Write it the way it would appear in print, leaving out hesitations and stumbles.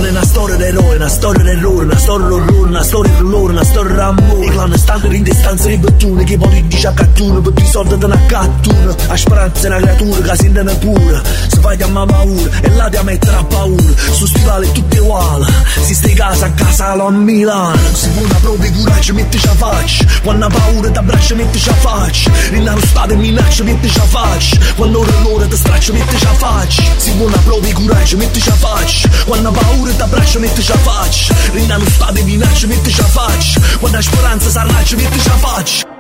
Non è una storia d'eroe, una storia d'errore, una storia d'orrore, una storia di loro, una storia d'amore. I clan stanno in distanza di bottone, che poi dice a cattura, per i soldi da una cattura. A speranza è una creatura che si intende pure, se fai chiamare paura e là ti mettere a paura. Su stivali tutti uguali, si stai casa a casa a Milano. Se vuoi una prova di coraggio mettici a faccia, quando ha paura ti abbraccia mettici a faccia. Rinna lo stato e minaccia mettici a faccia, quando ora l'ora ti straccia mettici a faccia. Se vuoi una prova di coraggio mettici a faccia, quando ha paura ti abbraccia mettici a faccia. Rinna lo stato e minaccia mettici a faccia, quando ha speranza s'arraccia mettici a faccia.